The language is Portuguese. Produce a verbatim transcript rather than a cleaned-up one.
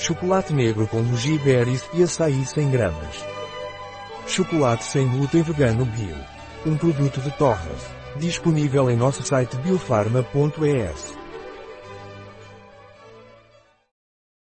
chocolate negro com goji berries e açaí cem gramas. Chocolate sem glúten vegano bio. Um produto de Torres. Disponível em nosso site biofarma ponto es.